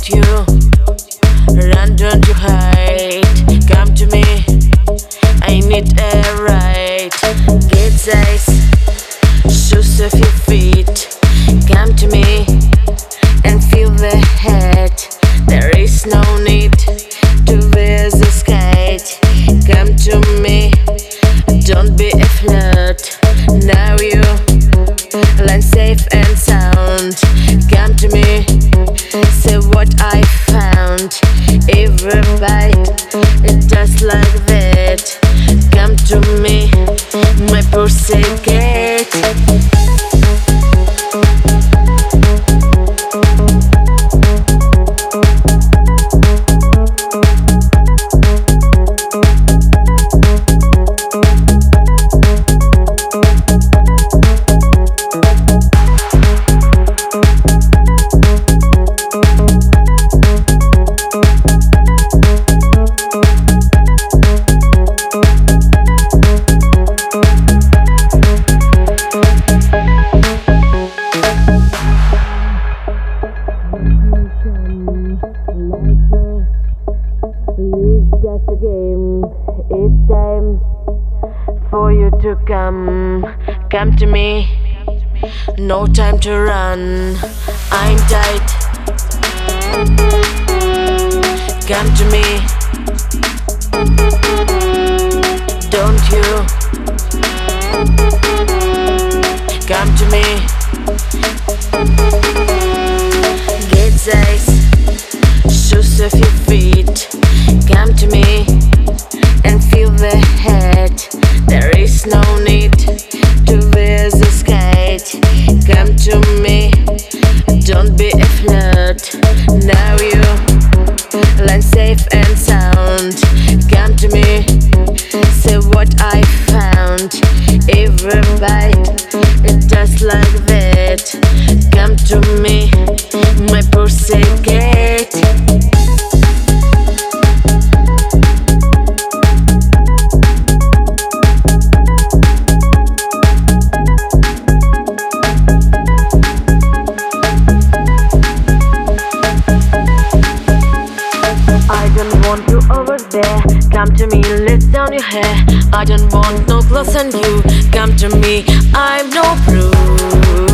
Don't you run, don't you hide. Come to me, I need a ride. Get size, shoes off your feet. Come to me and feel the head. There is no need to wear the skate. Come to me, don't be a flirt. Now you land safe and sound. Come to me, say what I found. Every bite, it does like that. Come to me, my pussycat. It's just a game, it's time for you to come to me, no time to run, I'm tight, come to me, don't you, come to me, get size, shoes off your feet. Come to me and feel the head. There is no need to wear the skate. Come to me, don't be a flirt. Now you land safe and sound. Come to me, say what I found. Every bite, it does like that. Come to me, my pussycat. I don't want you over there. Come to me, let down your hair. I don't want no clothes on you. Come to me, I'm no prude.